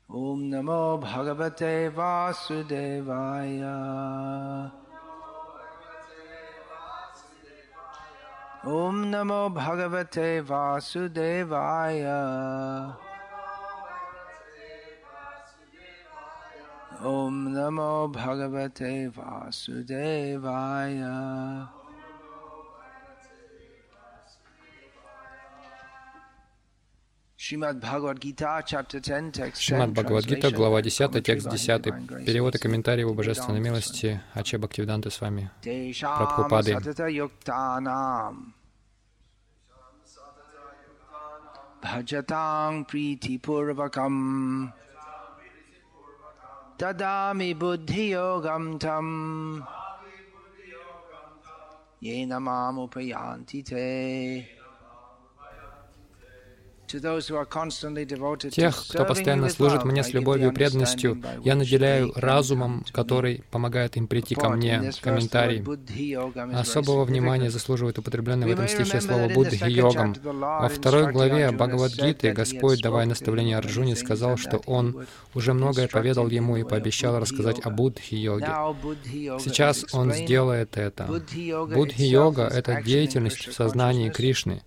Om Namo Bhagavate Vasudevaya. Om Namo Bhagavate Vasudevaya. Om Namo Bhagavate Vasudevaya. Шримад Бхагавад-гита, глава 10, текст 10. Перевод и комментарий его божественной милости Аче Бхактивиданты с вами Прабхупады. Бхаджатаң притипурвакам тадами буддхи-йогам там йена мам упаянти те. Тех, кто постоянно служит мне с любовью и преданностью, я наделяю разумом, который помогает им прийти ко мне. Комментарий. Особого внимания заслуживает употребленное в этом стихе слово «буддхи-йогам». Во второй главе Бхагавад-гиты Господь, давая наставление Арджуне, сказал, что Он уже многое поведал ему и пообещал рассказать о буддхи-йоге. Сейчас Он сделает это. Буддхи-йога — это деятельность в сознании Кришны.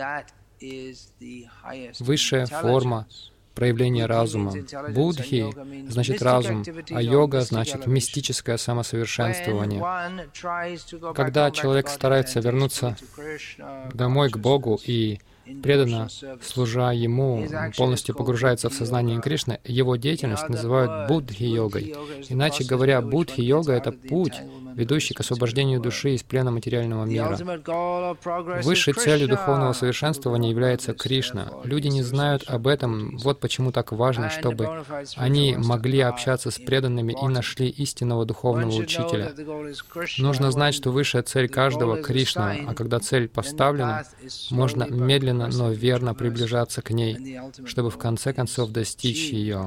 Высшая форма проявления разума. Буддхи значит разум, а йога значит мистическое самосовершенствование. Когда человек старается вернуться домой к Богу и преданно служа Ему, полностью погружается в сознание Кришны, его деятельность называют буддхи-йогой. Иначе говоря, буддхи-йога — это путь, ведущий к освобождению души из плена материального мира. Высшей целью духовного совершенствования является Кришна. Люди не знают об этом, вот почему так важно, чтобы они могли общаться с преданными и нашли истинного духовного учителя. Нужно знать, что высшая цель каждого — Кришна, а когда цель поставлена, можно медленно, но верно приближаться к ней, чтобы в конце концов достичь ее.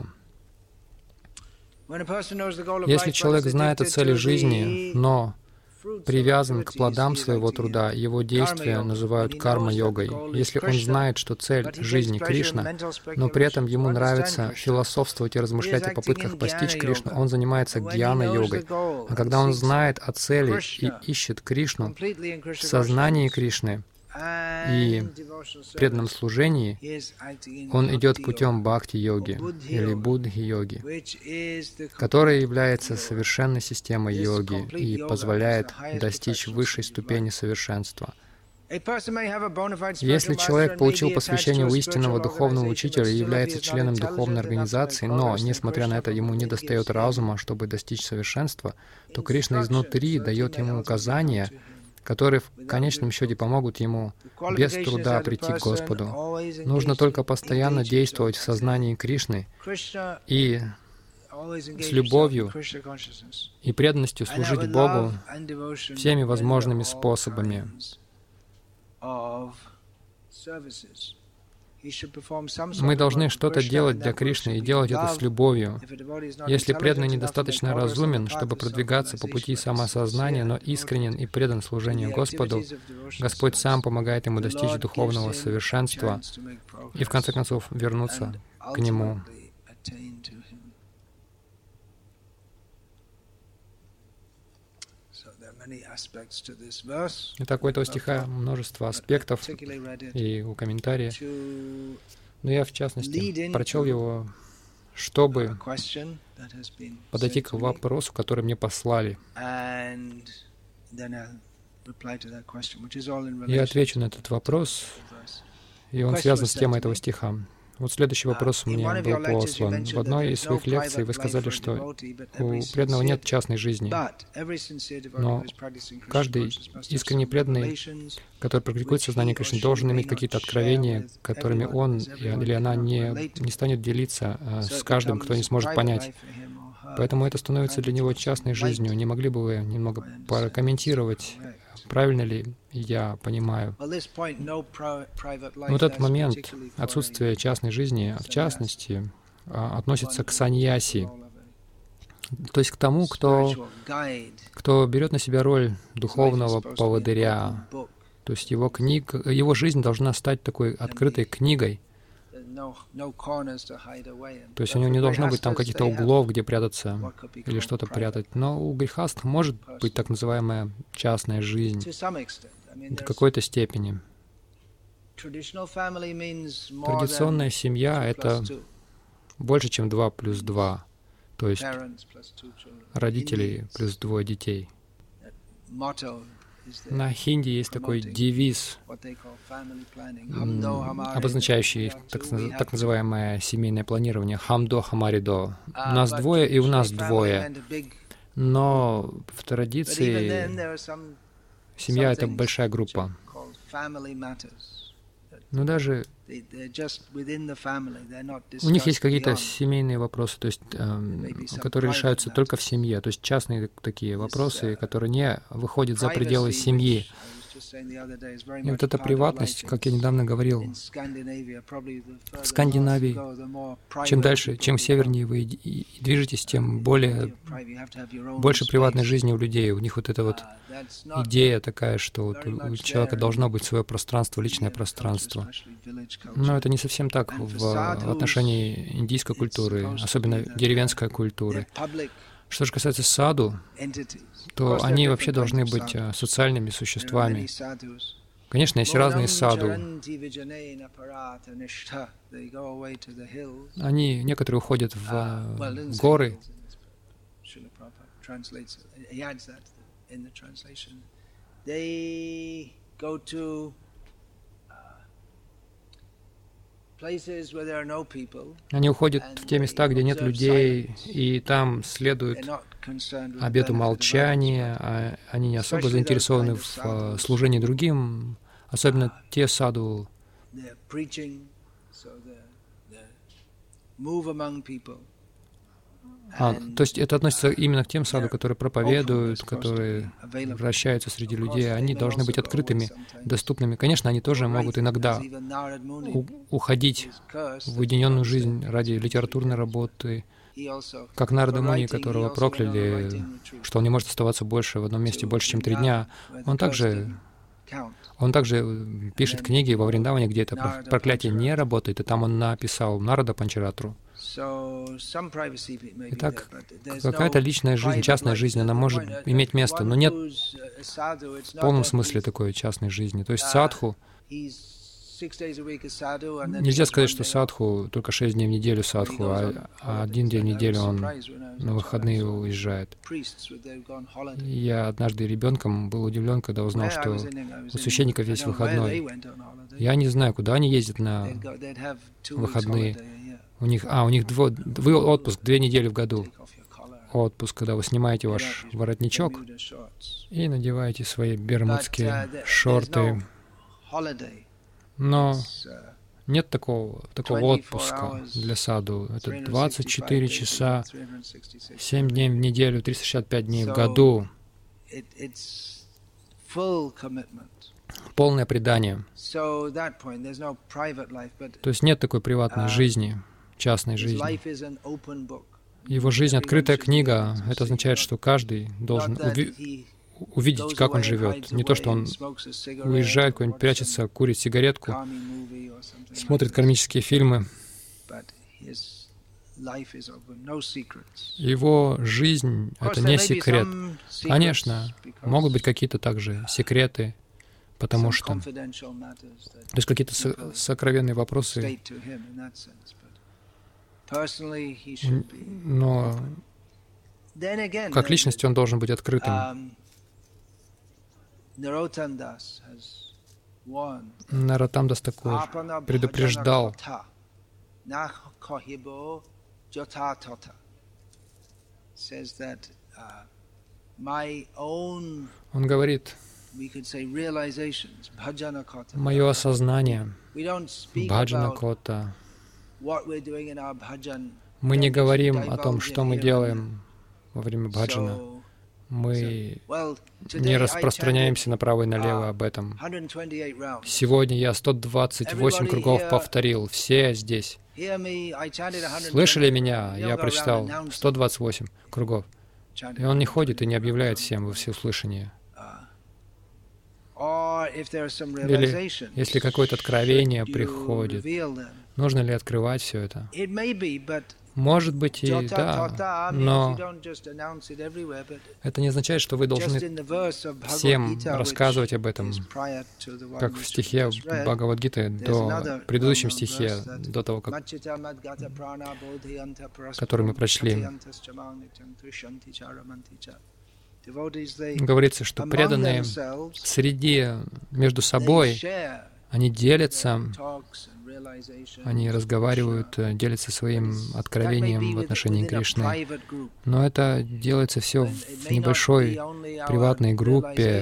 Если человек знает о цели жизни, но привязан к плодам своего труда, его действия называют карма-йогой. Если он знает, что цель жизни — Кришна, но при этом ему нравится философствовать и размышлять о попытках постичь Кришну, он занимается гьяна-йогой. А когда он знает о цели и ищет Кришну в сознании Кришны и преданном служении, он идет путем бхакти-йоги или буддхи-йоги, которая является совершенной системой йоги и позволяет достичь высшей ступени совершенства. Если человек получил посвящение у истинного духовного учителя и является членом духовной организации, но, несмотря на это, ему недостает разума, чтобы достичь совершенства, то Кришна изнутри дает ему указания, которые в конечном счете помогут ему без труда прийти к Господу. Нужно только постоянно действовать в сознании Кришны и с любовью и преданностью служить Богу всеми возможными способами. Мы должны что-то делать для Кришны и делать это с любовью. Если преданный недостаточно разумен, чтобы продвигаться по пути самоосознания, но искренен и предан служению Господу, Господь сам помогает ему достичь духовного совершенства и, в конце концов, вернуться к Нему. Итак, у этого стиха множество аспектов и у комментария. Но я, в частности, прочел его, чтобы подойти к вопросу, который мне послали. Я отвечу на этот вопрос, и он связан с темой этого стиха. Вот следующий вопрос мне был послан. В одной из своих лекций вы сказали, что у преданного нет частной жизни, но каждый искренне преданный, который практикует сознание Кришны, должен иметь какие-то откровения, которыми он или она не станет делиться с каждым, кто не сможет понять. Поэтому это становится для него частной жизнью. Не могли бы вы немного прокомментировать, правильно ли я понимаю? Вот этот момент отсутствия частной жизни, в частности, относится к саньяси, то есть к тому, кто берет на себя роль духовного поводыря. То есть его жизнь должна стать такой открытой книгой, То есть у него не должно быть там каких-то углов, где прятаться или что-то прятать. Но у грехастх может быть так называемая частная жизнь до какой-то степени. Традиционная семья — это больше, чем 2 плюс 2, то есть родители плюс 2 детей. На хинди есть такой девиз, обозначающий так называемое семейное планирование «Хамдо Хамаридо». У нас двое, и у нас двое. Но в традиции семья — это большая группа. Но даже у них есть какие-то семейные вопросы, то есть, которые решаются только в семье, то есть частные такие вопросы, которые не выходят за пределы семьи. И вот эта приватность, как я недавно говорил, в Скандинавии, чем дальше, чем севернее вы движетесь, тем больше приватной жизни у людей. У них вот эта вот идея такая, что вот у человека должно быть свое пространство, личное пространство. Но это не совсем так в отношении индийской культуры, особенно деревенской культуры. Что же касается саду, то они вообще должны быть социальными существами. Конечно, есть разные саду. Они, некоторые уходят в горы. Они уходят в те места, где нет людей, и там следуют обету молчания, а они не особо заинтересованы в служении другим, особенно те саду. То есть это относится именно к тем саду, которые проповедуют, которые вращаются среди людей. Они должны быть открытыми, доступными. Конечно, они тоже могут иногда уходить в уединенную жизнь ради литературной работы, как Нарада Муни, которого прокляли, что он не может оставаться больше в одном месте больше, чем 3 дня. Он также пишет книги во Вриндаване, где это проклятие не работает, и там он написал Нарада Панчаратру. Итак, какая-то личная жизнь, частная жизнь, она может иметь место, но нет в полном смысле такой частной жизни. То есть садху, нельзя сказать, что садху только 6 дней в неделю садху, а 1 день в неделю он на выходные уезжает. Я однажды ребенком был удивлен, когда узнал, что у священников есть выходной. Я не знаю, куда они ездят на выходные. У них отпуск 2 недели в году. Отпуск, когда вы снимаете ваш воротничок и надеваете свои бермудские шорты. Но нет такого отпуска для саду. Это 24 часа, 7 дней в неделю, 365 дней в году. Полное предание. То есть нет такой приватной жизни, частной жизни. Его жизнь — открытая книга. Это означает, что каждый должен увидеть, как он живет. Не то, что он уезжает куда-нибудь, прячется, курит сигаретку, смотрит кармические фильмы. Его жизнь — это не секрет. Конечно, могут быть какие-то также секреты, потому что... То есть какие-то сокровенные вопросы. Но как личность он должен быть открытым. Нароттам-дас Такур предупреждал, он говорит, мое осознание, бхаджана-кота, мы не говорим о том, что мы делаем во время бхаджана. Мы не распространяемся направо и налево об этом. Сегодня я 128 кругов повторил, все здесь. Слышали меня? Я прочитал 128 кругов. И он не ходит и не объявляет всем во всеуслышание. Или если какое-то откровение приходит, Нужно ли открывать все это? Может быть и да, но это не означает, что вы должны всем рассказывать об этом, как в стихе Бхагавад-гиты, в предыдущем стихе, до того, который мы прочли. Говорится, что преданные между собой, они делятся, они разговаривают, делятся своим откровением в отношении Кришны. Но это делается все в небольшой приватной группе.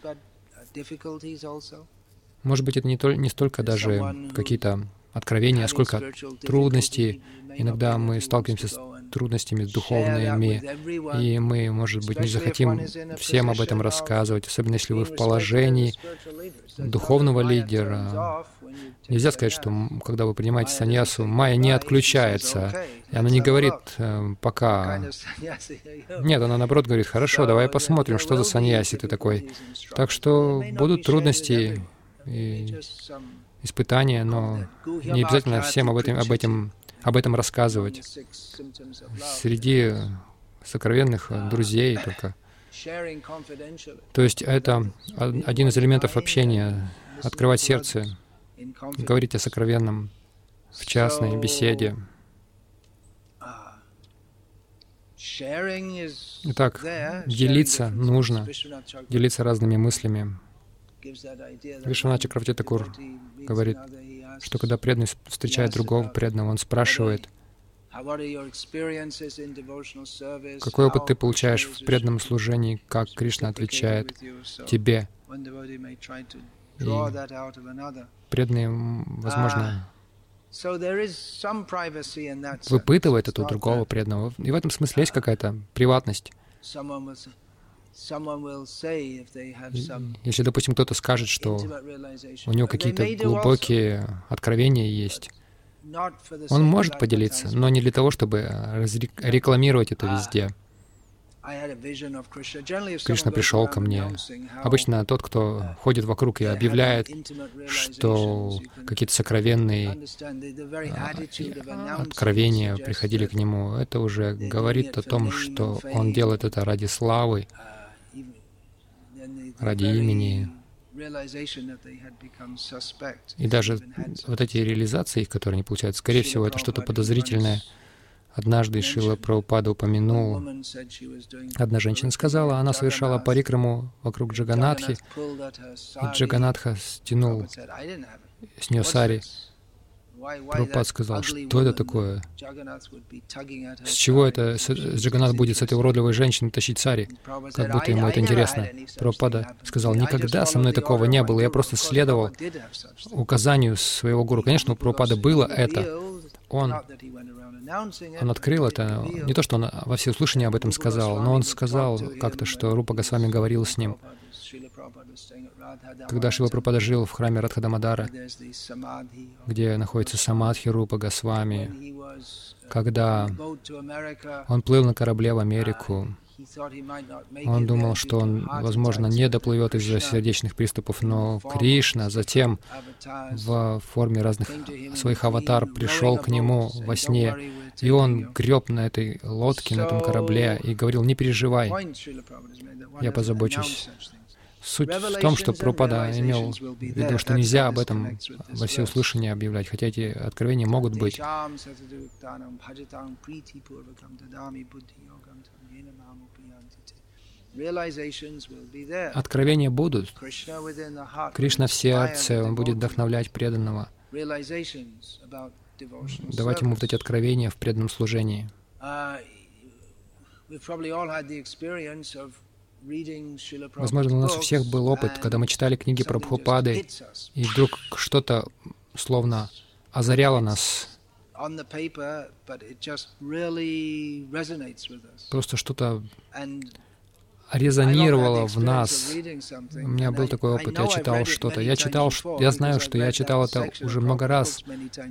Может быть, это не столько даже какие-то откровения, сколько трудностей. Иногда мы сталкиваемся с трудностями духовными, и мы, может быть, не захотим всем об этом рассказывать, особенно если вы в положении духовного лидера. Нельзя сказать, что когда вы принимаете саньясу, майя не отключается, и она не говорит «пока». Нет, она наоборот говорит «хорошо, давай посмотрим, что за саньяси ты такой». Так что будут трудности и испытания, но не обязательно всем об этом рассказывать. Среди сокровенных друзей только. То есть это один из элементов общения — открывать сердце, говорить о сокровенном в частной беседе. Итак, делиться нужно, делиться разными мыслями. Вишванат Чакраварти Такур говорит, что когда преданный встречает другого преданного, он спрашивает, какой опыт ты получаешь в преданном служении, как Кришна отвечает тебе. И преданные, возможно, выпытывает это у другого преданного. И в этом смысле есть какая-то приватность. Если, допустим, кто-то скажет, что у него какие-то глубокие откровения есть, он может поделиться, но не для того, чтобы рекламировать это везде. Кришна пришел ко мне. Обычно тот, кто ходит вокруг и объявляет, что какие-то сокровенные откровения приходили к нему, это уже говорит о том, что он делает это ради славы, ради имени. И даже вот эти реализации, которые они получают, скорее всего, это что-то подозрительное. Однажды Шрила Прабхупада упомянул, одна женщина сказала, она совершала парикраму вокруг Джаганатхи, и Джаганатха стянул с нее сари. Прабхупад сказал, что это такое? С чего это Джаганат будет с этой уродливой женщиной тащить сари? Как будто ему это интересно. Прабхупада сказал, никогда со мной такого не было, я просто следовал указанию своего гуру. Конечно, у Прабхупады было это. Он открыл это. Не то, что он во всеуслышание об этом сказал, но он сказал как-то, что Рупа Госвами говорил с ним. Когда Шрила Прабхупада жил в храме Радхадамадара, где находится самадхи Рупа Госвами, когда он плыл на корабле в Америку, он думал, что он, возможно, не доплывет из-за сердечных приступов, но Кришна затем в форме разных своих аватар пришел к нему во сне, и он греб на этой лодке, на этом корабле, и говорил, не переживай, я позабочусь. Суть в том, что Прабхупада имел в виду, что нельзя об этом во всеуслышание объявлять, хотя эти откровения могут быть. Откровения будут. Кришна в сердце, Он будет вдохновлять преданного, давать ему вот эти откровения в преданном служении. Возможно, у нас у всех был опыт, когда мы читали книги Прабхупады, и вдруг что-то словно озаряло нас. Просто что-то резонировало в нас. У меня был такой опыт, я читал что-то. Я знаю, что я читал это уже много раз,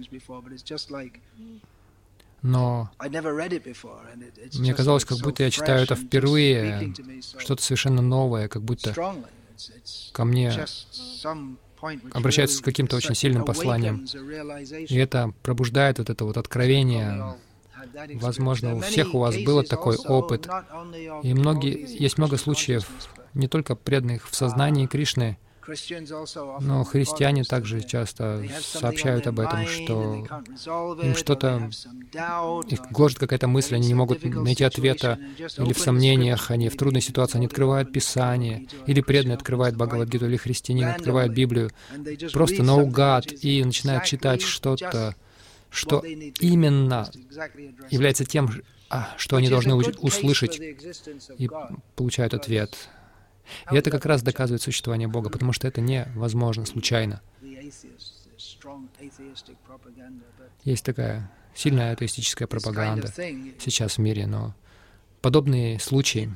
но мне казалось, как будто я читаю это впервые, что-то совершенно новое, как будто ко мне обращаются с каким-то очень сильным посланием. И это пробуждает вот это вот откровение. Возможно, у всех у вас был такой опыт. И есть много случаев, не только преданных в сознании Кришны, но христиане также часто сообщают об этом, что им что-то, их гложет какая-то мысль, они не могут найти ответа, или в сомнениях, они в трудной ситуации, они открывают Писание, или преданный открывает Бхагавад-гиту, или христианин открывает Библию, просто наугад, и начинает читать что-то, что именно является тем, что они должны услышать, и получают ответ. И это как раз доказывает существование Бога, потому что это невозможно случайно. Есть такая сильная атеистическая пропаганда сейчас в мире, но подобные случаи,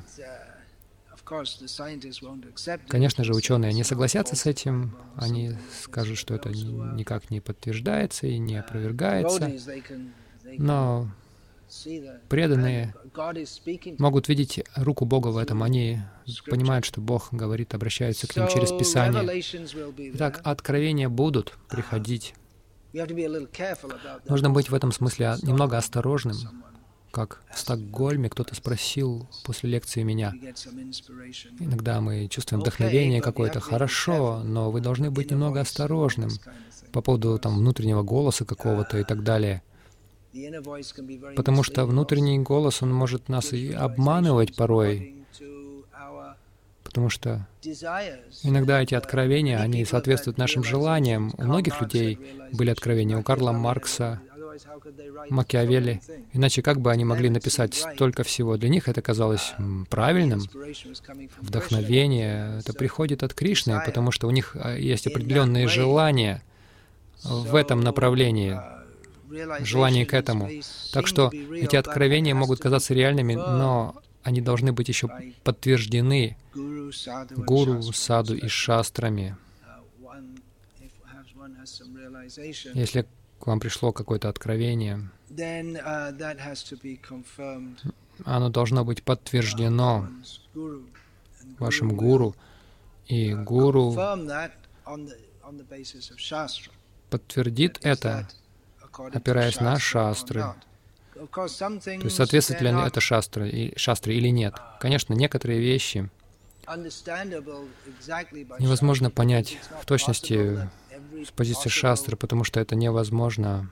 конечно же, ученые не согласятся с этим, они скажут, что это никак не подтверждается и не опровергается, но преданные могут видеть руку Бога в этом. Они понимают, что Бог говорит, обращаются к ним через Писание. Итак, откровения будут приходить. Нужно быть в этом смысле немного осторожным. Как в Стокгольме кто-то спросил после лекции меня. Иногда мы чувствуем вдохновение какое-то. Хорошо, но вы должны быть немного осторожным по поводу внутреннего голоса какого-то и так далее. Потому что внутренний голос, он может нас и обманывать порой, потому что иногда эти откровения, они соответствуют нашим желаниям. У многих людей были откровения, у Карла Маркса, Макиавелли. Иначе как бы они могли написать столько всего? Для них это казалось правильным. Вдохновение, это приходит от Кришны, потому что у них есть определенные желания в этом направлении. Желание к этому. Так что эти откровения могут казаться реальными, но они должны быть еще подтверждены гуру, саду и шастрами. Если к вам пришло какое-то откровение, оно должно быть подтверждено вашим гуру, и гуру подтвердит это, опираясь на шастры. То есть соответствует ли это шастре или нет. Конечно, некоторые вещи невозможно понять в точности с позиции шастры, потому что это невозможно.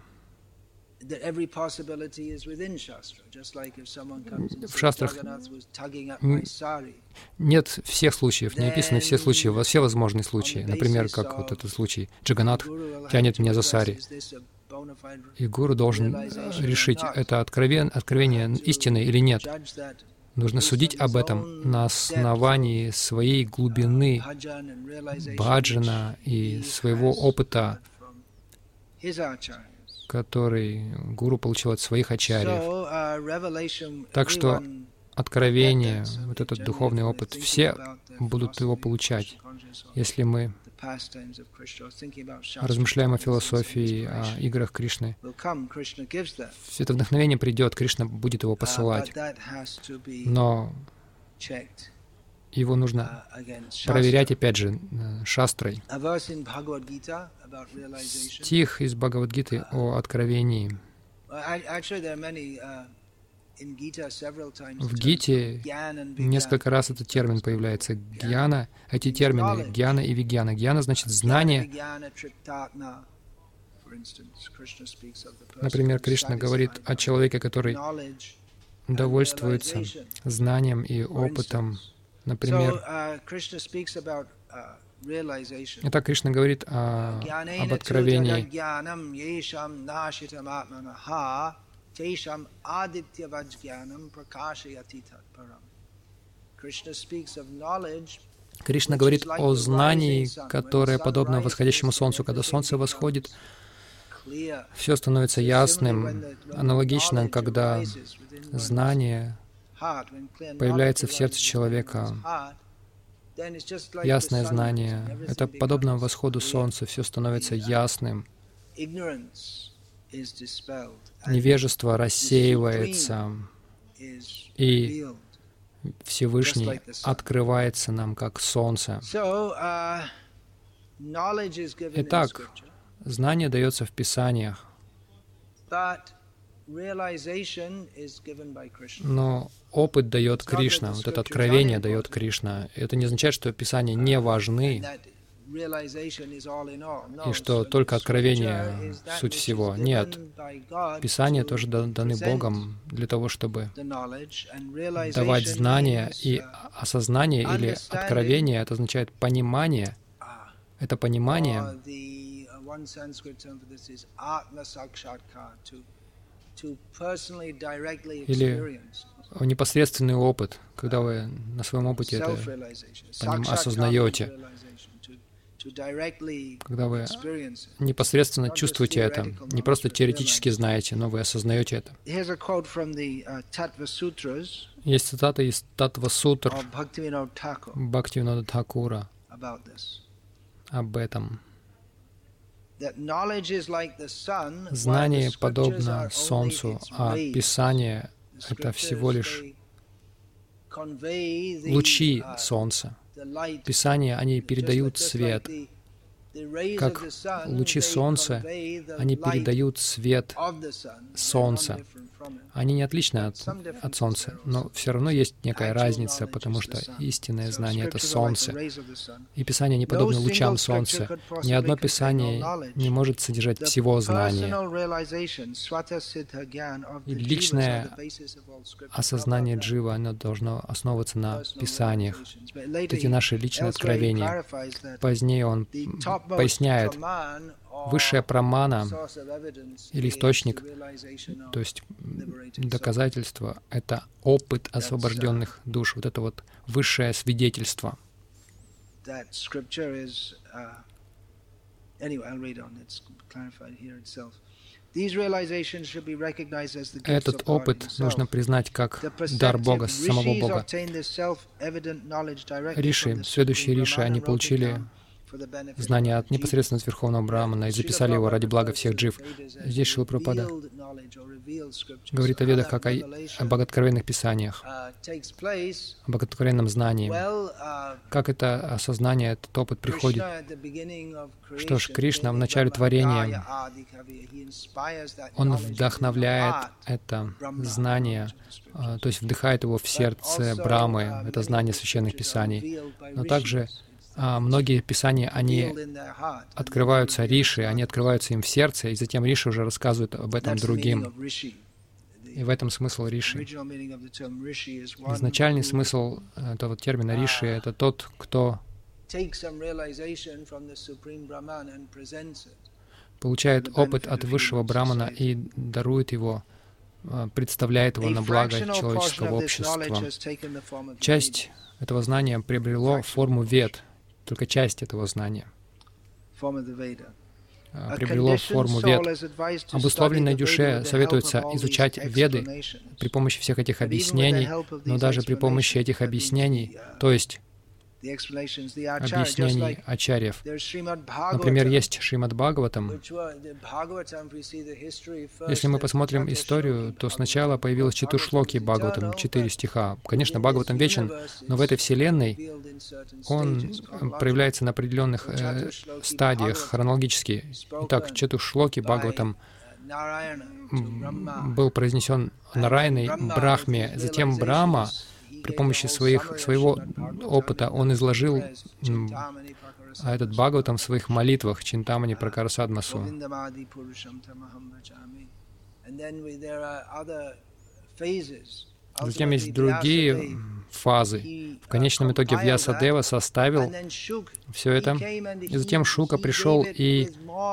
В шастрах нет всех случаев, не описаны все случаи, все возможные случаи. Например, как вот этот случай. Джаганнат тянет меня за сари. И гуру должен решить, это откровение истины или нет. Нужно судить об этом на основании своей глубины баджана и своего опыта, который гуру получил от своих ачарьев. Так что откровение, вот этот духовный опыт, все будут его получать, если мы размышляем о философии, о играх Кришны. Все это вдохновение придет, Кришна будет его посылать. Но его нужно проверять, опять же, шастрой. Стих из Бхагавад-гиты о откровении. В Гите несколько раз этот термин появляется. Гьяна, эти термины, гьяна и вигьяна. Гьяна значит знание. Например, Кришна говорит о человеке, который довольствуется знанием и опытом. Например, итак, Кришна говорит об откровении. Кришна говорит о знании, которое подобно восходящему солнцу. Когда солнце восходит, все становится ясным. Аналогично, когда знание появляется в сердце человека, ясное знание, это подобно восходу солнца, все становится ясным. Невежество рассеивается, и Всевышний открывается нам как солнце. Итак, знание дается в Писаниях, но опыт дает Кришна, вот это откровение дает Кришна. Это не означает, что Писания не важны, и что только откровение — суть всего. Нет. Писания тоже даны Богом для того, чтобы давать знания, и осознание или откровение — это означает понимание. Это понимание или непосредственный опыт, когда вы на своем опыте это осознаете, когда вы непосредственно чувствуете это, не просто теоретически знаете, но вы осознаете это. Есть цитата из Татва-сутр Бхактивинода Тхакура об этом. Знание подобно Солнцу, а Писание — это всего лишь лучи Солнца. Писания, они передают свет. Как лучи Солнца, они передают свет Солнца. Они не отличны от Солнца, но все равно есть некая разница, потому что истинное знание — это Солнце. И Писание не подобно лучам Солнца. Ни одно Писание не может содержать всего знания. И личное осознание джива, оно должно основываться на Писаниях. Эти наши личные откровения. Позднее он поясняет, высшая прамана или источник, то есть доказательство, это опыт освобожденных душ, вот это вот высшее свидетельство. Этот опыт нужно признать как дар Бога, самого Бога. Риши, следующие риши, они получили знания непосредственно от Верховного Брахмана и записали его ради блага всех джив. Здесь Шрила Прабхупада говорит о ведах как о богооткровенных писаниях, о богооткровенном знании. Как это осознание, этот опыт приходит? Что ж, Кришна в начале творения, Он вдохновляет это знание, то есть вдыхает его в сердце Брамы, это знание священных писаний. Но также многие писания, они открываются риши, они открываются им в сердце, и затем риши уже рассказывают об этом другим. И в этом смысл риши. Изначальный смысл этого термина риши — это тот, кто получает опыт от высшего брамана и дарует его, представляет его на благо человеческого общества. Часть этого знания приобрело форму вед, только часть этого знания приобрело форму вед. Обусловленной душе советуется изучать веды при помощи всех этих объяснений, но даже при помощи этих объяснений, то есть объяснений ачарьев. Например, есть Шримад Бхагаватам. Если мы посмотрим историю, то сначала появилось Чатушлоки Бхагаватам, 4 стиха. Конечно, Бхагаватам вечен, но в этой вселенной он проявляется на определенных стадиях хронологически. Итак, Чатушлоки Бхагаватам был произнесен Нараяной Брахме, затем Брахма при помощи своего опыта он изложил этот Бхагаватам в своих молитвах Чинтамани Пракарасадмасу. Затем есть другие фазы. В конечном итоге Вьясадева составил все это, и затем Шука пришел и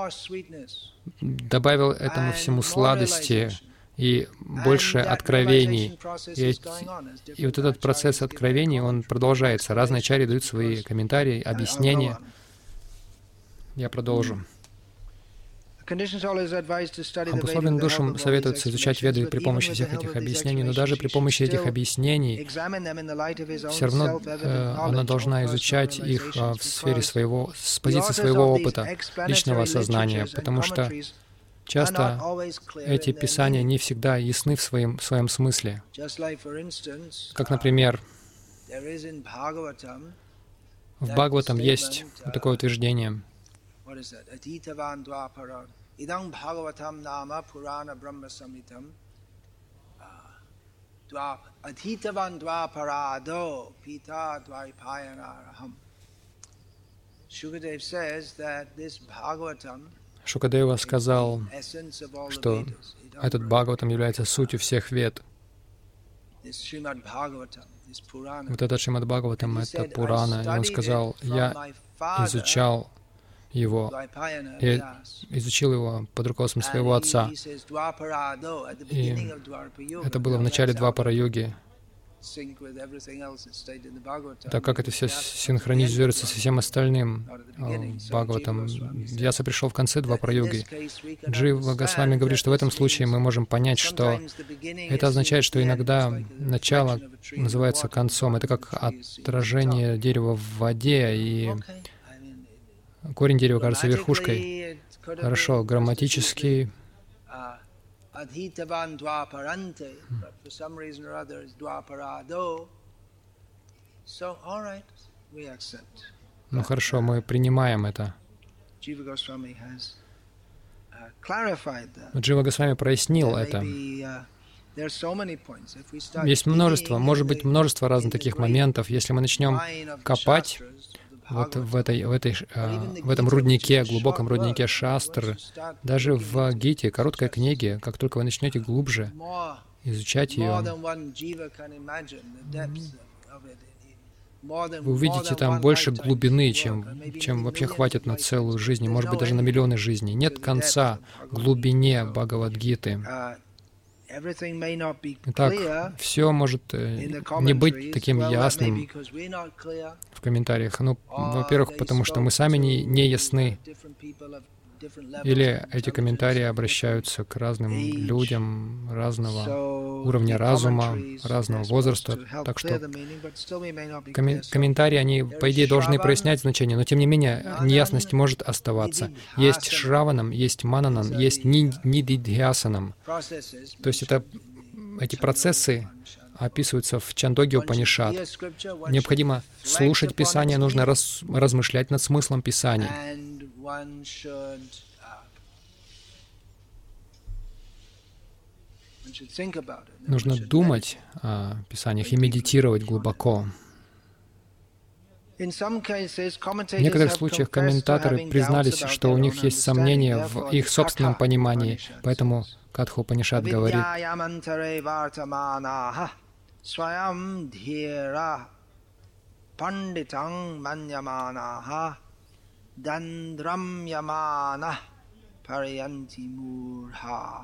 добавил этому всему сладости и больше откровений. И вот этот процесс откровений, он продолжается. Разные ачарьи дают свои комментарии, объяснения. Я продолжу. Обусловленным душам советуется изучать веды при помощи всех этих объяснений, но даже при помощи этих объяснений все равно она должна изучать их в сфере своего, с позиции своего опыта, личного осознания, потому что часто эти писания не всегда ясны в своем смысле. Как, например, в Бхагаватам есть такое утверждение. Шукадева сказал, что этот Бхагаватам является сутью всех вед. Вот этот Шримад Бхагаватам — это Пурана. И он сказал, я изучал его, я изучил его под руководством своего отца. И это было в начале Двапара-юги. Так как это все синхронизируется со всем остальным Бхагаватам. Вьяса пришел в конце Двапара-юги. Джива Госвами говорит, что в этом случае мы можем понять, что это означает, что иногда начало называется концом. Это как отражение дерева в воде, и корень дерева кажется верхушкой. Хорошо, грамматически. Ну хорошо, мы принимаем это. Джива Госвами прояснил это. Есть множество, может быть, множество разных таких моментов. Если мы начнем копать вот в этом руднике, глубоком руднике шастр, даже в Гите, короткой книге, как только вы начнете глубже изучать ее, вы увидите там больше глубины, чем вообще хватит на целую жизнь, может быть, даже на миллионы жизней. Нет конца глубине Бхагавад-гиты. Итак, все может не быть таким ясным в комментариях. Ну, во-первых, потому что мы сами не ясны. Или эти комментарии обращаются к разным людям разного уровня разума, разного возраста. Так что комментарии, они, по идее, должны прояснять значение, но тем не менее неясность может оставаться. Есть Шраванам, есть Мананам, есть Нидидхьясанам. То есть эти процессы описываются в Чандогья Упанишад. Необходимо слушать Писание, нужно размышлять над смыслом Писаний. Нужно думать о Писаниях и медитировать глубоко. В некоторых случаях комментаторы признались, что у них есть сомнения в их собственном понимании, поэтому Катха Упанишад говорит: Dandram Parayanti Murha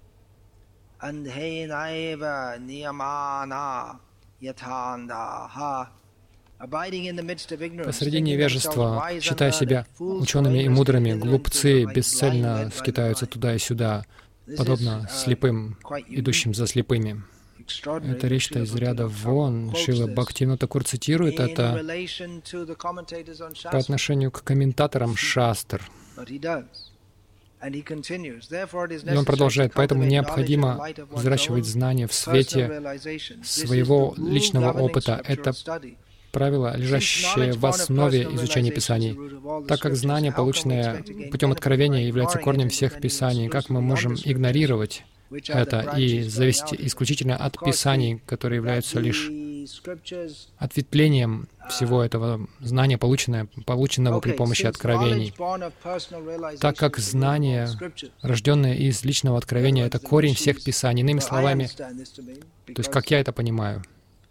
Andhenaiva Niyamana Yathandaha. Посреди невежества, считая себя учеными и мудрыми, глупцы бесцельно скитаются туда и сюда, подобно слепым, идущим за слепыми. Это речь-то из ряда вон. Шрила Бхактивинода Тхакур цитирует это по отношению к комментаторам шастр. И он продолжает, поэтому необходимо взращивать знания в свете своего личного опыта. Это правило, лежащее в основе изучения Писаний. Так как знание, полученное путем откровения, является корнем всех Писаний, как мы можем игнорировать это и зависеть исключительно от Писаний, которые являются лишь ответвлением всего этого знания, полученного при помощи откровений. Так как знание, рожденное из личного откровения, это корень всех Писаний. Иными словами, то есть как я это понимаю,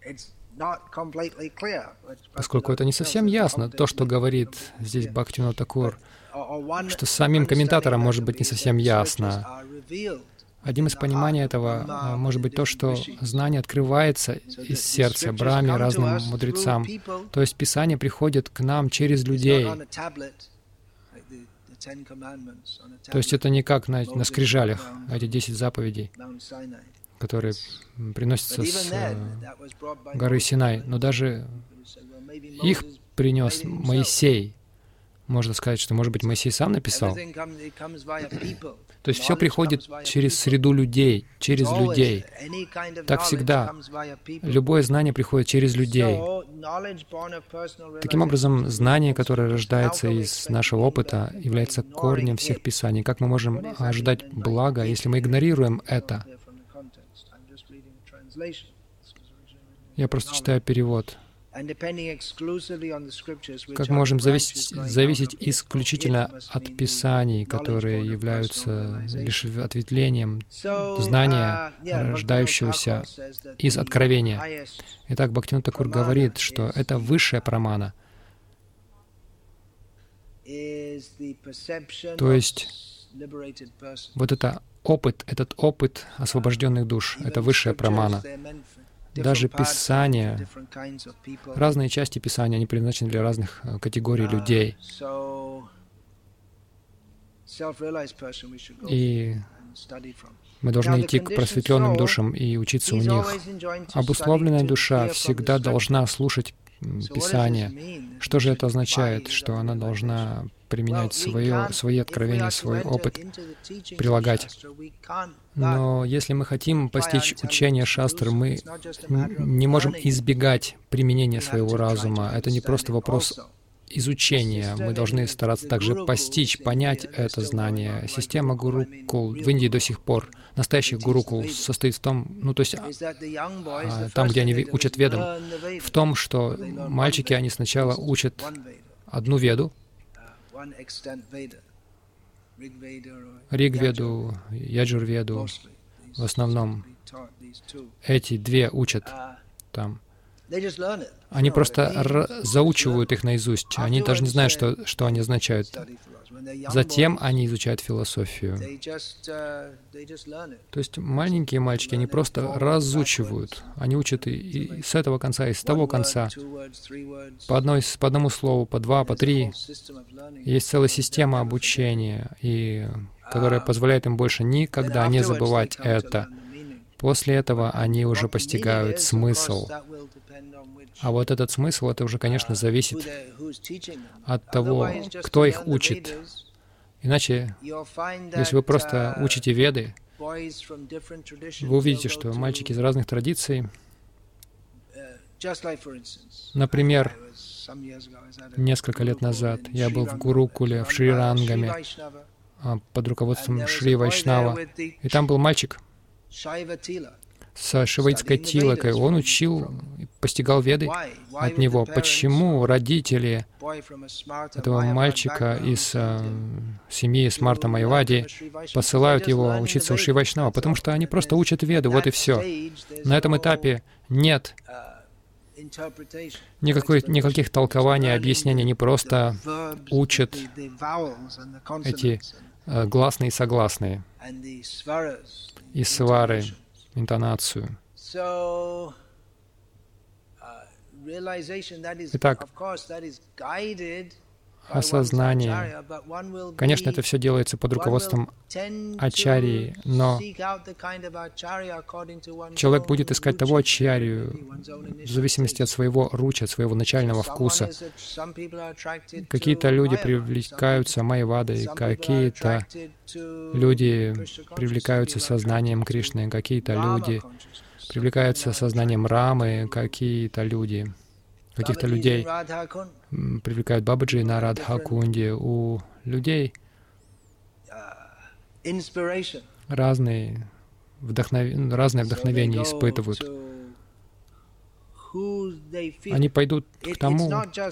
поскольку это не совсем ясно, то, что говорит здесь Бхактивинода Тхакур, что самим комментаторам может быть не совсем ясно. Одним из пониманий этого может быть то, что знание открывается из сердца Брахме разным мудрецам. То есть Писание приходит к нам через людей. То есть это не как на скрижалях, эти 10 заповедей, которые приносятся с горы Синай. Но даже их принес Моисей. Можно сказать, что, может быть, Моисей сам написал. То есть все приходит через среду людей, через людей. Так всегда. Любое знание приходит через людей. Таким образом, знание, которое рождается из нашего опыта, является корнем всех писаний. Как мы можем ожидать блага, если мы игнорируем это? Я просто читаю перевод. Как мы можем зависеть исключительно от Писаний, которые являются лишь ответвлением знания, рождающегося из откровения. Итак, Бхактивинода Тхакур говорит, что это высшая прамана. То есть вот этот опыт освобожденных душ, это высшая прамана. Даже Писания, разные части Писания, они предназначены для разных категорий людей. И мы должны идти к просветленным душам и учиться у них. Обусловленная душа всегда должна слушать Писание. Что же это означает? Что она должна применять свои откровения, свой опыт, прилагать. Но если мы хотим постичь учение шастр, мы не можем избегать применения своего разума. Это не просто вопрос изучения. Мы должны стараться также постичь, понять это знание. Система гурукул в Индии до сих пор, настоящий гурукул, состоит в том, то есть там, где они учат ведам, в том, что мальчики, они сначала учат одну веду, Ригведу, Яджурведу, в основном эти две учат там. Они просто заучивают их наизусть. Они даже не знают, что они означают. Затем они изучают философию. То есть маленькие мальчики, они просто разучивают. Они учат и с этого конца, и с того конца. По одному слову, по два, по три. Есть целая система обучения, которая позволяет им больше никогда не забывать это. После этого они уже постигают смысл. А вот этот смысл, это уже, конечно, зависит от того, кто их учит. Иначе, если вы просто учите веды, вы увидите, что мальчики из разных традиций, например, несколько лет назад я был в Гурукуле, в Шри-Рангаме, под руководством Шри Вайшнава, и там был мальчик с шиваитской тилакой. Он учил, постигал веды от него. Почему родители этого мальчика из семьи Смарта Майявади посылают его учиться у Шри Вайшнава? Потому что они просто учат веды, вот и все. На этом этапе нет никаких толкований, объяснений. Они просто учат эти гласные и согласные и свары, интонацию. Итак, осознание. Конечно, это все делается под руководством ачарьи, но человек будет искать того ачарью в зависимости от своего руча, от своего начального вкуса. Какие-то люди привлекаются майявадой, какие-то люди привлекаются сознанием Кришны, какие-то люди привлекаются сознанием Рамы, каких-то людей привлекают Бабаджи на Радха-кунде. У людей разные вдохновения испытывают. Они пойдут к тому.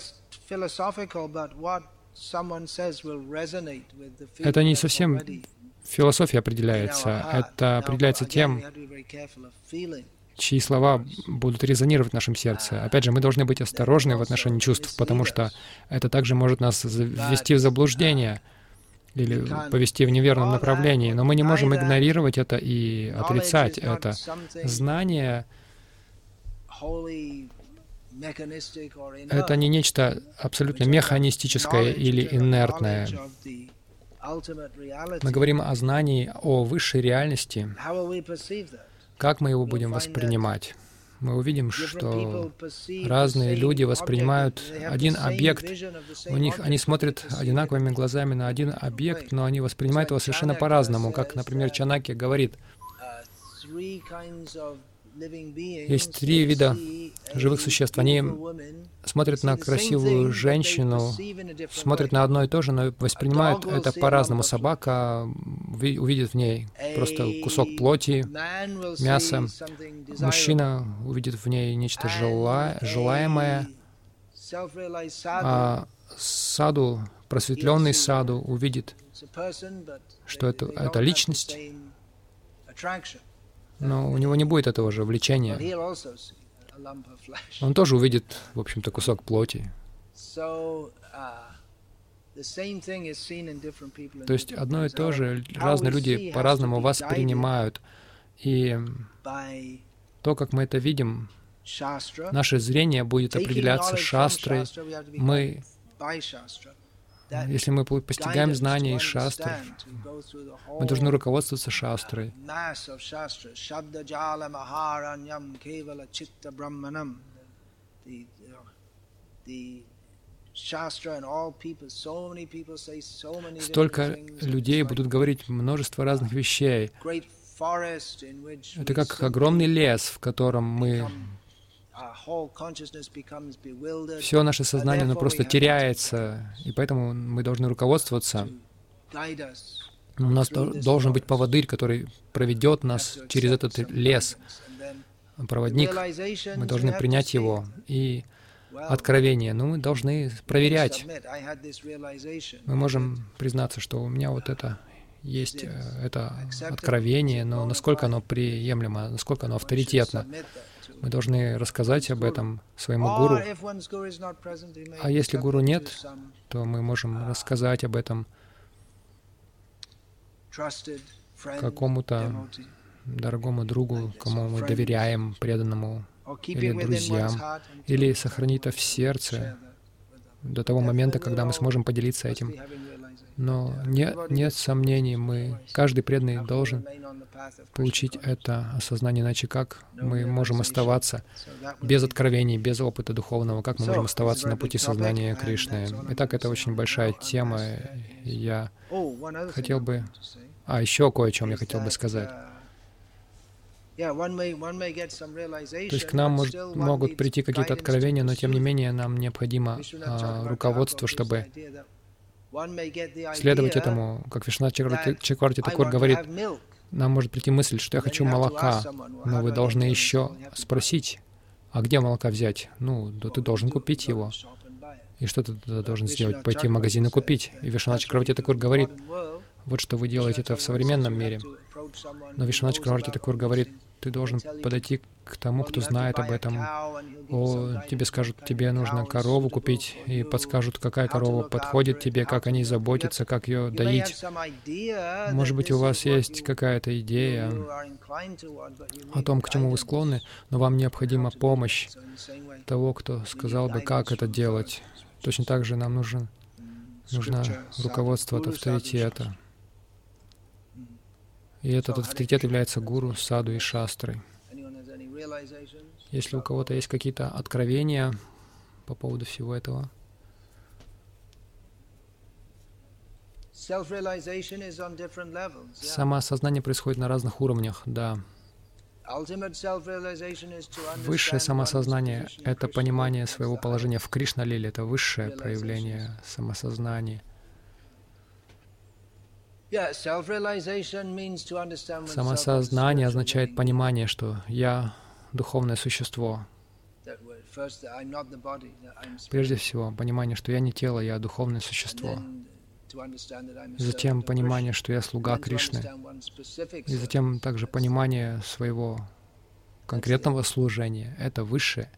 Это не совсем философия определяется, это определяется тем, чьи слова будут резонировать в нашем сердце. Опять же, мы должны быть осторожны в отношении чувств, потому что это также может нас ввести в заблуждение или повести в неверном направлении. Но мы не можем игнорировать это и отрицать это. Знание — это не нечто абсолютно механистическое или инертное. Мы говорим о знании, о высшей реальности. Как мы его будем воспринимать? мы увидим, что разные люди воспринимают один объект, они смотрят одинаковыми глазами на один объект, но они воспринимают его совершенно по-разному. Как, например, Чанакья говорит, есть 3 вида живых существ. Они смотрят на красивую женщину, смотрят на одно и то же, но воспринимают это по-разному. Собака увидит в ней просто кусок плоти, мясо. Мужчина увидит в ней нечто желаемое, а саду, просветленный саду увидит, что это личность, но у него не будет этого же влечения. Он тоже увидит, в общем-то, кусок плоти. То есть одно и то же разные люди по-разному воспринимают. И то, как мы это видим, наше зрение будет определяться шастрой. Если мы постигаем знания из шастр, мы должны руководствоваться шастрой. Столько людей будут говорить множество разных вещей. Это как огромный лес, в котором все наше сознание, оно просто теряется, и поэтому мы должны руководствоваться. У нас должен быть поводырь, который проведет нас через этот лес, проводник. Мы должны принять его. И откровение, мы должны проверять. Мы можем признаться, что у меня вот это есть, это откровение, но насколько оно приемлемо, насколько оно авторитетно. Мы должны рассказать об этом своему гуру. А если гуру нет, то мы можем рассказать об этом какому-то дорогому другу, кому мы доверяем, преданному, или друзьям, или сохранить это в сердце до того момента, когда мы сможем поделиться этим. Но нет сомнений, каждый преданный должен получить это осознание, иначе как мы можем оставаться без откровений, без опыта духовного, как мы можем оставаться на пути сознания Кришны. Итак, это очень большая тема. Я хотел бы... еще кое о чем я хотел бы сказать. То есть к нам могут прийти какие-то откровения, но тем не менее нам необходимо руководство, чтобы следовать этому. Как Вишванат Чакраварти Такур говорит, нам может прийти мысль, что я хочу молока, но вы должны еще спросить, а где молока взять? Да ты должен купить его. И что ты тогда должен сделать? Пойти в магазин и купить. И Вишванат Чакраварти Такур говорит, вот что вы делаете это в современном мире. Но Вишванат Чакраварти Такур говорит, ты должен подойти к тому, кто знает об этом. Тебе скажут, тебе нужно корову купить, и подскажут, какая корова подходит тебе, как о ней заботиться, как ее доить. Может быть, у вас есть какая-то идея о том, к чему вы склонны, но вам необходима помощь того, кто сказал бы, как это делать. Точно так же нам нужно руководство от авторитета. И этот авторитет является гуру, саду и шастрой. Если у кого-то есть какие-то откровения по поводу всего этого. Самоосознание происходит на разных уровнях, да. Высшее самосознание — это понимание своего положения в Кришна-лиле, это высшее проявление самосознания. Самосознание означает понимание, что я — духовное существо. Прежде всего, понимание, что я не тело, я — духовное существо. Затем понимание, что я слуга Кришны. И затем также понимание своего конкретного служения. Это высшее.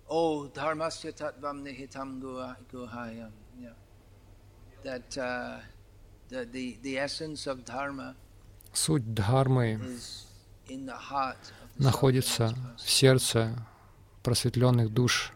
Суть дхармы находится в сердце просветленных душ.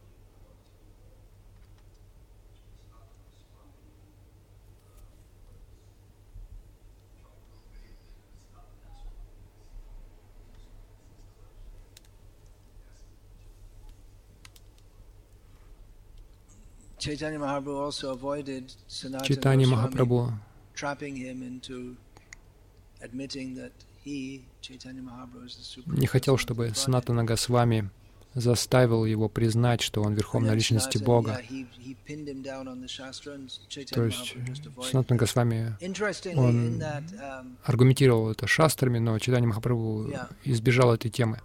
Chaitanya Махапрабху не хотел, чтобы Санатана Госвами заставил его признать, что он Верховная Личность Бога. То есть Санатана Госвами, он аргументировал это шастрами, но Чайтанья Махапрабху избежал этой темы.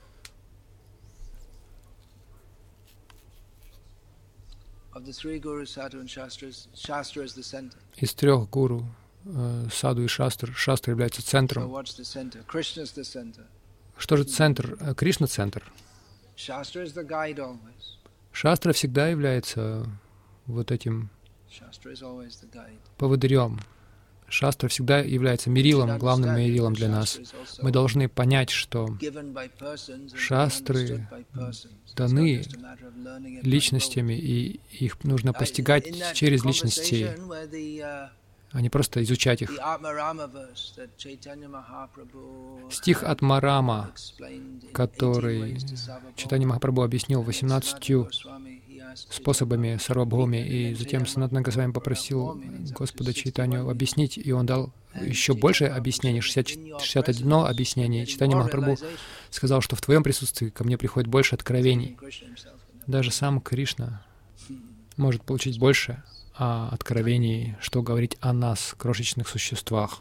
Из трех гуру, саду и шастр, шастра является центром. Что же центр? Кришна — центр. Шастра всегда является вот этим поводырем. Шастра всегда является мерилом, главным мерилом для нас. Мы должны понять, что шастры даны личностями, и их нужно постигать через личности, а не просто изучать их. Стих Атмарама, который Чайтанья Махапрабху объяснил 18 способами Сарвабхауми, и затем Санатана Госвами попросил Господа Чайтанью объяснить, и он дал еще больше объяснений, 61 объяснение. Чайтанья Махапрабху сказал, что в твоем присутствии ко мне приходит больше откровений. Даже сам Кришна может получить больше откровений, что говорить о нас, крошечных существах.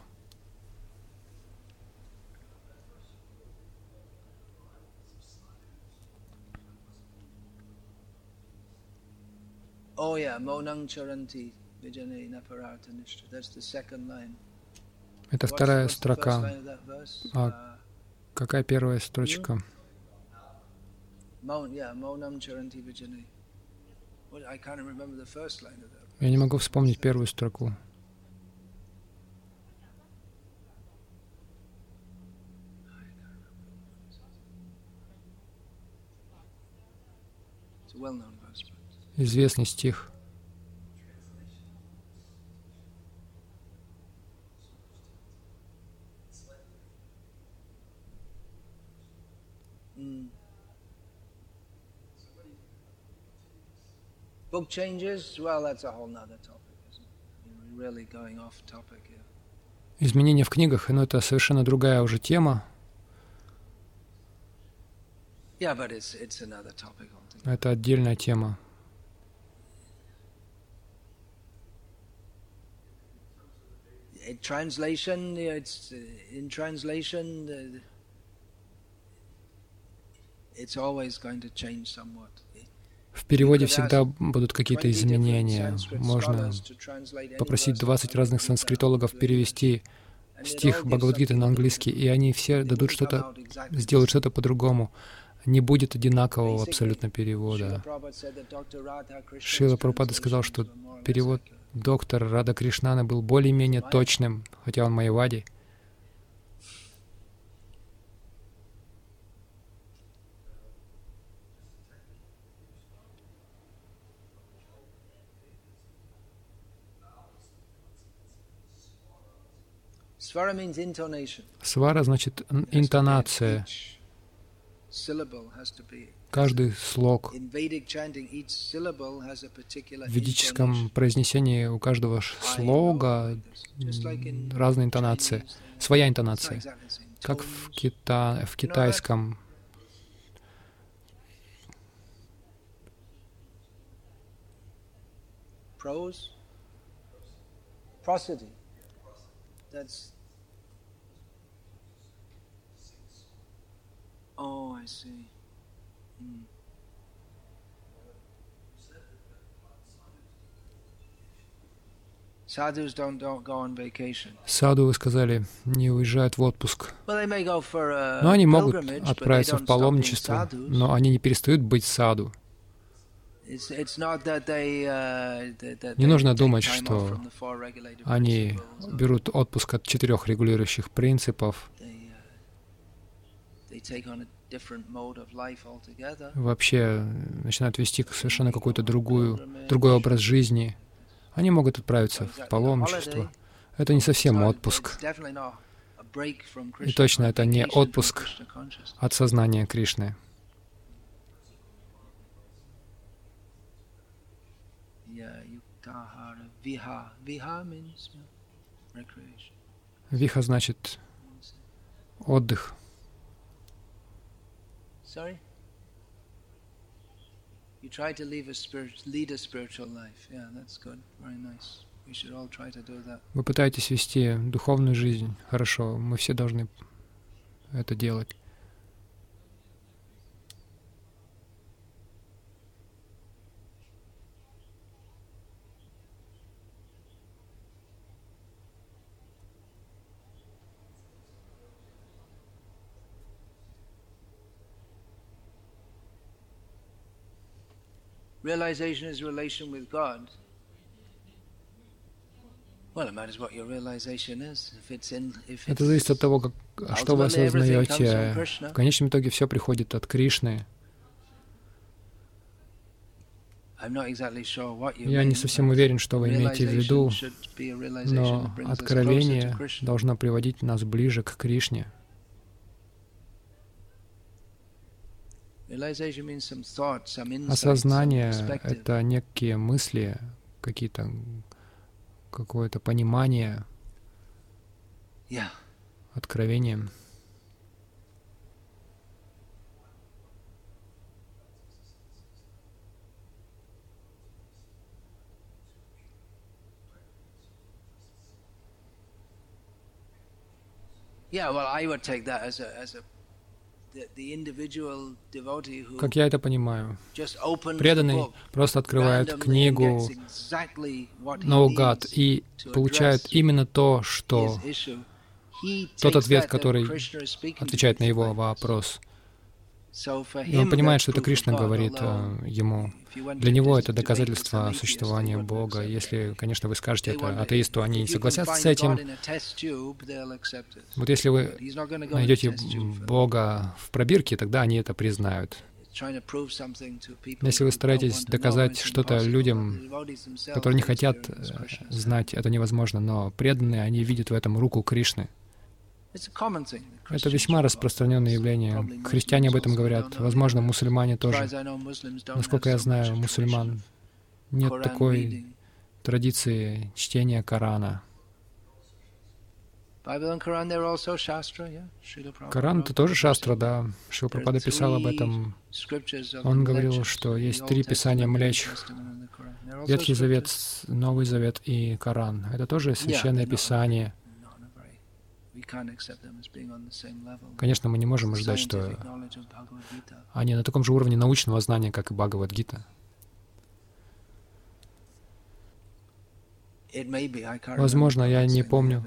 Это вторая строка. А какая первая строчка? Я не могу вспомнить первую строку. Известный стих. Book changes, well, that's a whole nother topic, isn't it? We're really going off topic here. Изменения в книгах, но это совершенно другая уже тема. Yeah, but it's another topic altogether. Это отдельная тема. Translation, it's in translation, it's always going to change somewhat. В переводе всегда будут какие-то изменения. Можно попросить 20 разных санскритологов перевести стих Бхагавад-гиты на английский, и они все дадут что-то, сделают что-то по-другому. Не будет одинакового абсолютно перевода. Шрила Прабхупада сказал, что перевод доктора Рада Кришнана был более-менее точным, хотя он майявади. Свара значит интонация. Каждый слог. В ведическом произнесении у каждого слога разная интонация, своя интонация. Как в китайском. Oh, I see. Sadhus don't go on vacation. Саду, вы сказали, не уезжают в отпуск. Well, they may go for a Но они могут pilgrimage, but they отправиться в don't stop being паломничество, sadhus. но они не перестают быть саду. Не нужно думать, что они берут отпуск от 4 регулирующих принципов, вообще начинают вести совершенно какой-то другой образ жизни. Они могут отправиться в паломничество. Это не совсем отпуск. И точно это не отпуск от сознания Кришны. Виха значит отдых. Sorry? You try to lead a spiritual life. Yeah, that's good. Very nice. We should all try to do that. Вы пытаетесь вести духовную жизнь. Хорошо, мы все должны это делать. Realization is relation with God. Well, it matters what your realization is. Это зависит от того, что вы осознаете. В конечном итоге все приходит от Кришны. Я не совсем уверен, что вы имеете в виду, но откровение должно приводить нас ближе к Кришне. Осознание — это некие мысли, какое-то понимание, откровение. Как я это понимаю, преданный просто открывает книгу наугад и получает именно то, что тот ответ, который отвечает на его вопрос. И он понимает, что это Кришна говорит ему. Для него это доказательство существования Бога. Если, конечно, вы скажете это атеисту, они не согласятся с этим. Вот если вы найдете Бога в пробирке, тогда они это признают. Если вы стараетесь доказать что-то людям, которые не хотят знать, это невозможно, но преданные, они видят в этом руку Кришны. Это весьма распространенное явление. Христиане об этом говорят. Возможно, мусульмане тоже. Насколько я знаю, мусульман нет такой традиции чтения Корана. Коран — это тоже шастра, да. Шрила Прабхупада писал об этом. Он говорил, что есть 3 писания млечных. Ветхий Завет, Новый Завет и Коран. Это тоже священное писание. Конечно, мы не можем ожидать, что они на таком же уровне научного знания, как и Бхагавад-гита. Возможно, я не помню.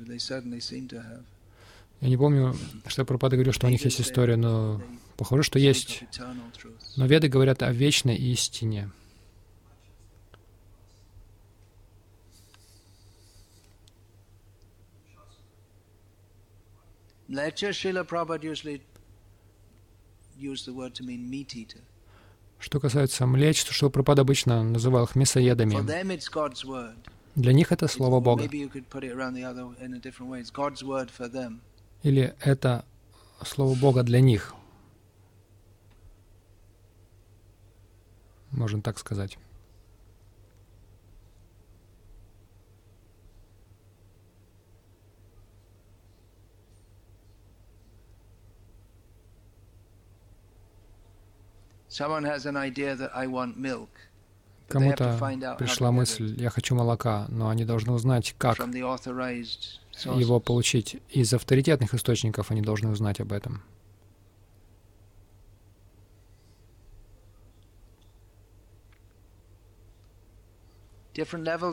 Я не помню, что Прабхупада говорил, что у них есть история, но похоже, что есть. Но Веды говорят о вечной истине. Что касается млеч, то Шрила Прабхупада обычно называл их мясоедами. Для них это Слово Бога. Или это Слово Бога для них. Можно так сказать. Кому-то пришла мысль, я хочу молока, но они должны узнать, как его получить. Из авторитетных источников они должны узнать об этом. Есть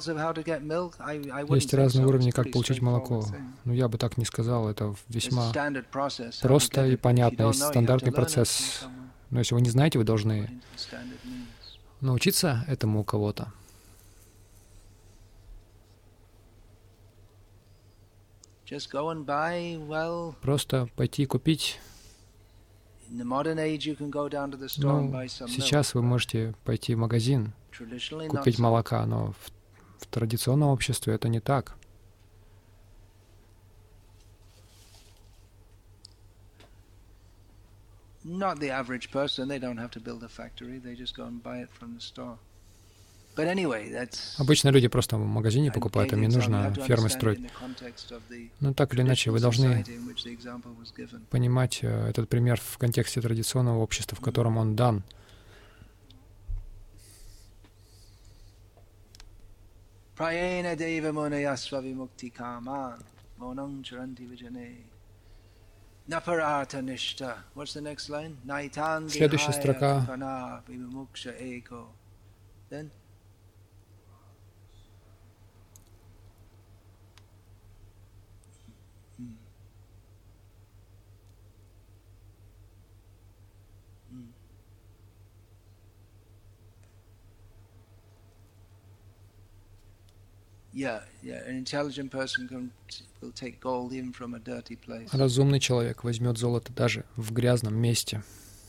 разные уровни, как получить молоко. Но я бы так не сказал, это весьма просто и понятно. Есть стандартный процесс. Но если вы не знаете, вы должны научиться этому у кого-то. Просто пойти и купить. Сейчас вы можете пойти в магазин, купить молока, но в традиционном обществе это не так. Обычно люди просто в магазине покупают, им не нужно фермы строить. Но так или иначе, вы должны понимать этот пример в контексте традиционного общества, в котором он дан. Следующая строка. Разумный человек возьмет золото даже в грязном месте.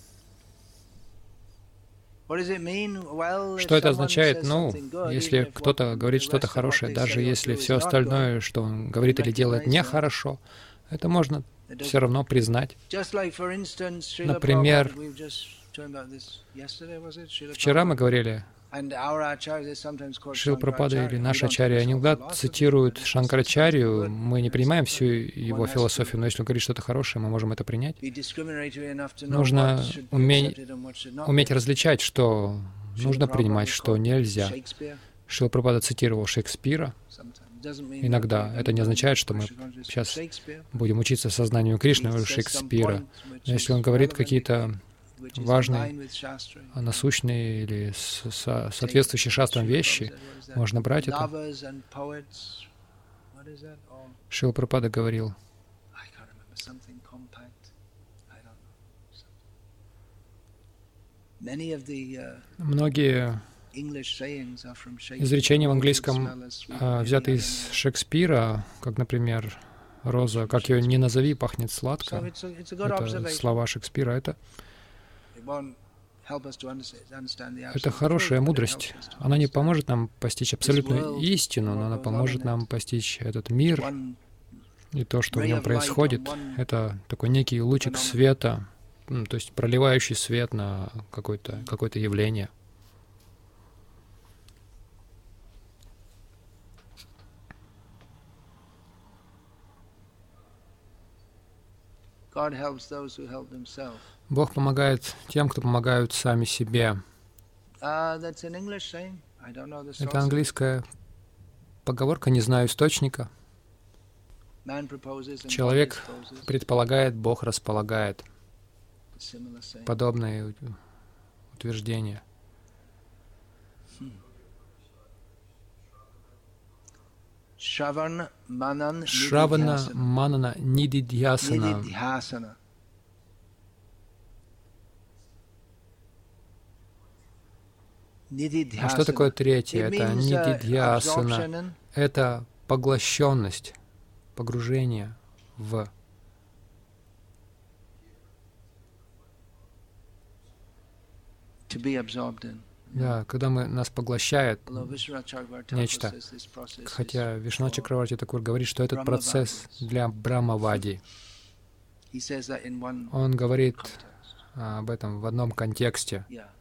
Что это означает? Ну, если кто-то говорит что-то хорошее, даже если все остальное, что он говорит или делает, нехорошо, это можно все равно признать. Например, вчера мы говорили, Шрила Прабхупада или наши ачарьи, они иногда цитируют Шанкарачарью, мы не принимаем всю его философию, но если он говорит что-то хорошее, мы можем это принять. Нужно уметь различать, что нужно принимать, что нельзя. Шрила Прабхупада цитировал Шекспира. Иногда это не означает, что мы сейчас будем учиться сознанию Кришны у Шекспира. Но если он говорит какие-то важные, насущные или соответствующие шастрам вещи, можно брать это. Шрила Прабхупада говорил, многие изречения в английском взяты из Шекспира, как, например, «Роза, как ее ни назови, пахнет сладко». Это слова Шекспира. Это хорошая мудрость. Она не поможет нам постичь абсолютную истину, но она поможет нам постичь этот мир и то, что в нем происходит. Это такой некий лучик света, то есть проливающий свет на какое-то явление. Бог помогает тем, кто помогают сами себе. Это английская поговорка, не знаю источника. Человек предполагает, Бог располагает. Подобное утверждение. Шравана Манана Нидидьясана. А что такое третье? Это нидидьясана. Это поглощенность, погружение в. Да, когда нас поглощает нечто. Хотя Вишванат Чакраварти Такур говорит, что этот процесс для Брахмавади. Он говорит об этом в одном контексте.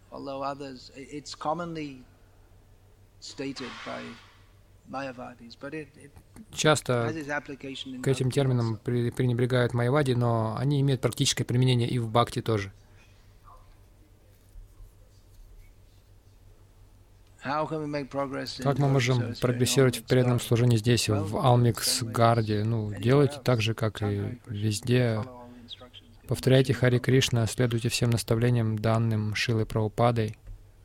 Часто к этим терминам пренебрегают майявади, но они имеют практическое применение и в бхакти тоже. Как мы можем прогрессировать в преданном служении здесь, в Алмикс-Гарде? Делайте так же, как и везде. Повторяйте Хари Кришна, следуйте всем наставлениям, данным Шрилой Прабхупадой.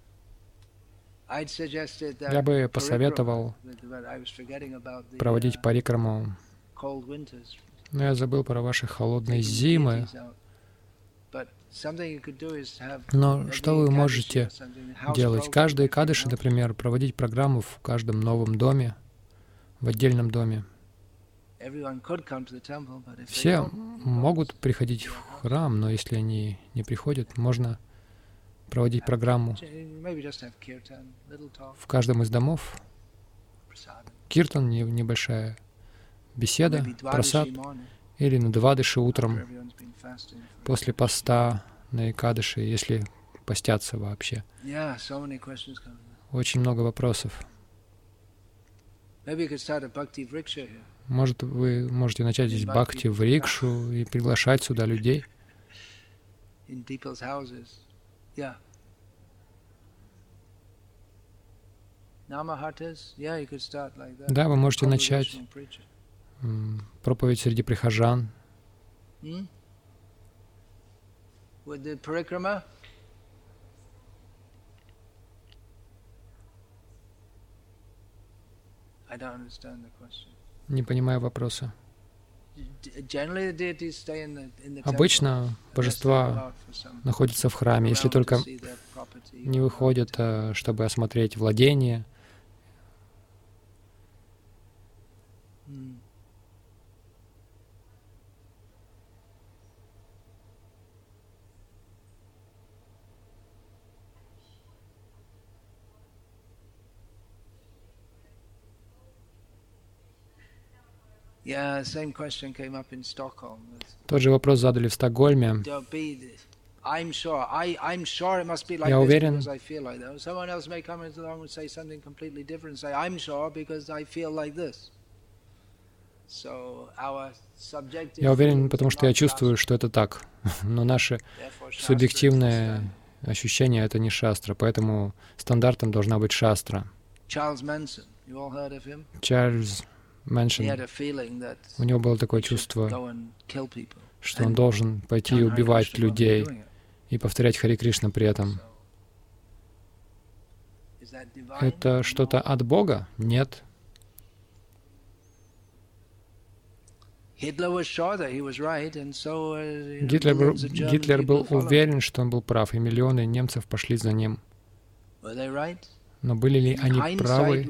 Я бы посоветовал проводить парикраму, но я забыл про ваши холодные зимы. Но что вы можете делать? Каждый Экадаши, например, проводить программу в каждом новом доме, в отдельном доме. Все могут приходить в храм, но если они не приходят, можно проводить программу в каждом из домов. Киртан, небольшая беседа, прасад, или на Двадаши утром, после поста на Экадаши, если постятся вообще. Очень много вопросов. Может, вы можете начать здесь бхакти в рикшу и приглашать сюда людей? Да, вы можете начать проповедь среди прихожан. Не понимаю вопроса. Обычно божества находятся в храме, если только не выходят, чтобы осмотреть владение. Тот же вопрос задали в Стокгольме. Я уверен, потому что я чувствую, что это так. Но наше субъективное ощущение — это не шастра, поэтому стандартом должна быть шастра. Чарльз Мэнсон, у него было такое чувство, что он должен пойти и убивать людей и повторять Харе Кришна при этом. Это что-то от Бога? Нет. Гитлер был уверен, что он был прав, и миллионы немцев пошли за ним. Но были ли они правы?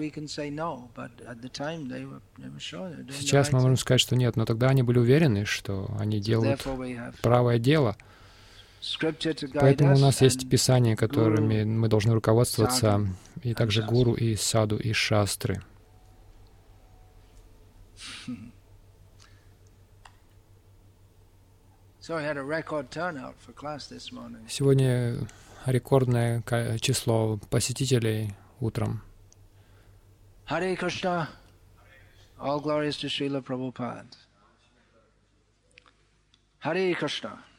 Сейчас мы можем сказать, что нет, но тогда они были уверены, что они делают правое дело. Поэтому у нас есть Писания, которыми мы должны руководствоваться, и также гуру, и саду, и шастры. Сегодня рекордное число посетителей утром. Харе Кришна. All glories to Srila Prabhupada. Hare Krishna.